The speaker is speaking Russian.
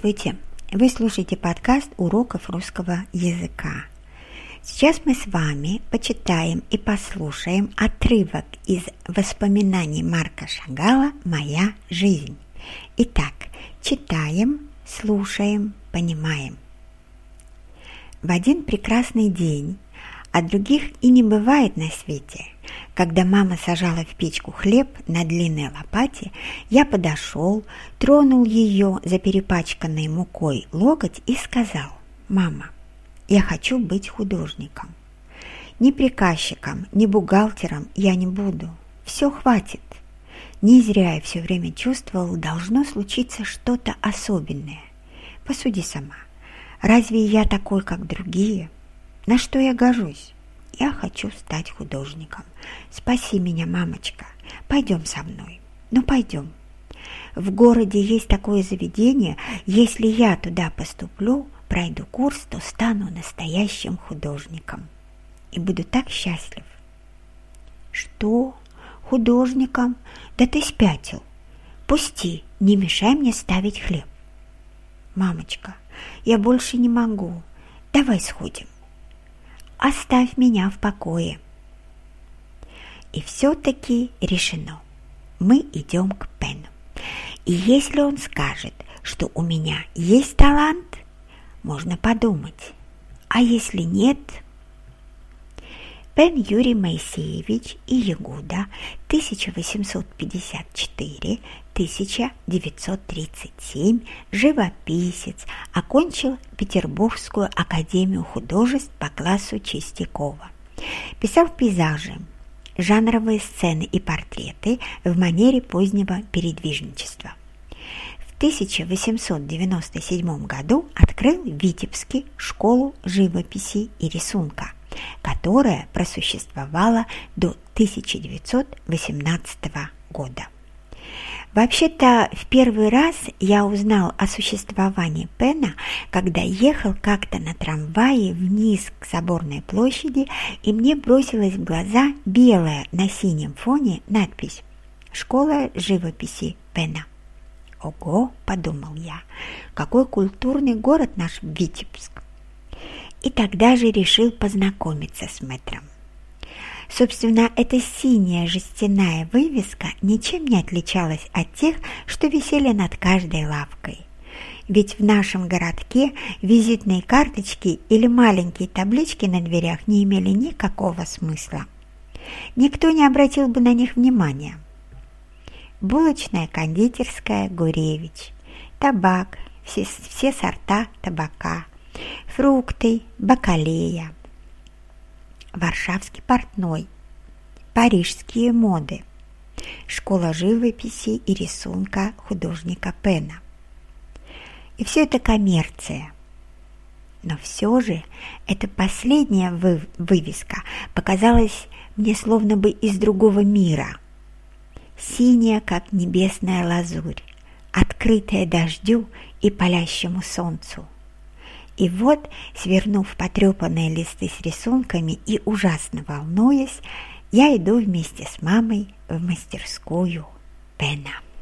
Здравствуйте! Вы слушаете подкаст уроков русского языка. Сейчас мы с вами почитаем и послушаем отрывок из воспоминаний Марка Шагала «Моя жизнь». Итак, читаем, слушаем, понимаем. В один прекрасный день, а других и не бывает на свете, когда мама сажала в печку хлеб на длинной лопате, я подошел, тронул ее за перепачканной мукой локоть и сказал: «Мама, я хочу быть художником. Ни приказчиком, ни бухгалтером я не буду. Все хватит. Не зря я все время чувствовал, должно случиться что-то особенное. Посуди сама. Разве я такой, как другие? На что я гожусь? Я хочу стать художником. Спаси меня, мамочка. Пойдем со мной. Ну, пойдем. В городе есть такое заведение. Если я туда поступлю, пройду курс, то стану настоящим художником. И буду так счастлив». «Что? Художником? Да ты спятил. Пусти, не мешай мне ставить хлеб». «Мамочка, я больше не могу. Давай сходим. Оставь меня в покое». И все-таки решено. Мы идем к Пену. И если он скажет, что у меня есть талант, можно подумать. А если нет? Пен Юрий Моисеевич и Ягуда, 1854-1937, живописец, окончил Петербургскую академию художеств по классу Чистякова. Писал пейзажи, жанровые сцены и портреты в манере позднего передвижничества. В 1897 году открыл в Витебске школу живописи и рисунка, которая просуществовала до 1918 года. Вообще-то, в первый раз я узнал о существовании Пена, когда ехал как-то на трамвае вниз к Соборной площади, и мне бросилась в глаза белая на синем фоне надпись «Школа живописи Пена». «Ого!» – подумал я, какой культурный город наш Витебск. И тогда же решил познакомиться с мэтром. Собственно, эта синяя жестяная вывеска ничем не отличалась от тех, что висели над каждой лавкой. Ведь в нашем городке визитные карточки или маленькие таблички на дверях не имели никакого смысла. Никто не обратил бы на них внимания. Булочная, кондитерская Гуревич, табак, все сорта табака, фрукты, бакалея, Варшавский портной, парижские моды, школа живописи и рисунка художника Пена. И все это коммерция. Но все же эта последняя вывеска показалась мне словно бы из другого мира. Синяя, как небесная лазурь, открытая дождю и палящему солнцу. И вот, свернув потрепанные листы с рисунками и ужасно волнуясь, я иду вместе с мамой в мастерскую Пена.